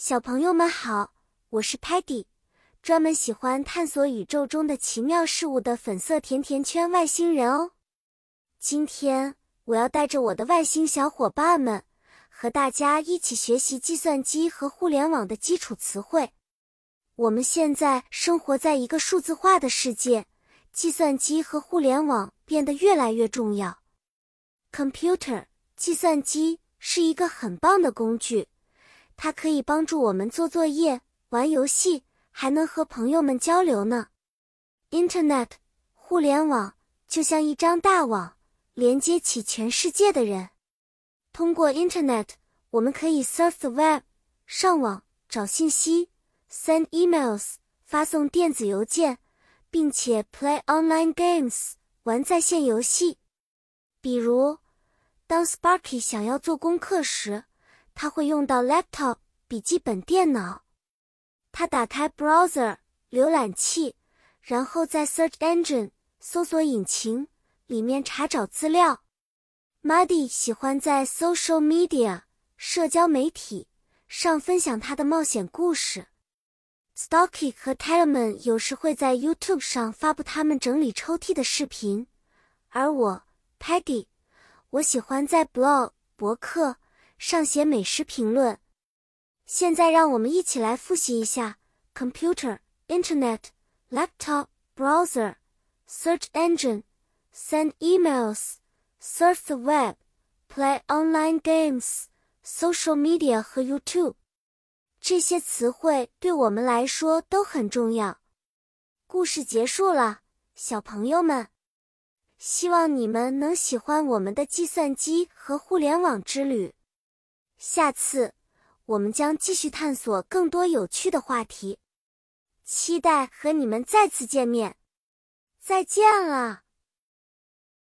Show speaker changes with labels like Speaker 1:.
Speaker 1: 小朋友们好，我是 Patty， 专门喜欢探索宇宙中的奇妙事物的粉色甜甜圈外星人哦。今天我要带着我的外星小伙伴们，和大家一起学习计算机和互联网的基础词汇。我们现在生活在一个数字化的世界，计算机和互联网变得越来越重要。Computer， 计算机是一个很棒的工具。它可以帮助我们做作业、玩游戏，还能和朋友们交流呢。Internet， 互联网，就像一张大网，连接起全世界的人。通过 Internet， 我们可以 surf the web， 上网，找信息， send emails， 发送电子邮件，并且 play online games， 玩在线游戏。比如，当 Sparky 想要做功课时，他会用到 laptop 笔记本电脑。他打开 browser 浏览器，然后在 search engine 搜索引擎里面查找资料。Muddy 喜欢在 social media 社交媒体上分享他的冒险故事。Stocky 和 Tellerman 有时会在 YouTube 上发布他们整理抽屉的视频。而我 Peggy， 我喜欢在 blog 博客上写美食评论。现在让我们一起来复习一下 Computer, Internet, Laptop, Browser, Search Engine, Send Emails, Surf the Web, Play Online Games, Social Media 和 YouTube。 这些词汇对我们来说都很重要。故事结束了，小朋友们。希望你们能喜欢我们的计算机和互联网之旅。下次我们将继续探索更多有趣的话题，期待和你们再次见面。再见了。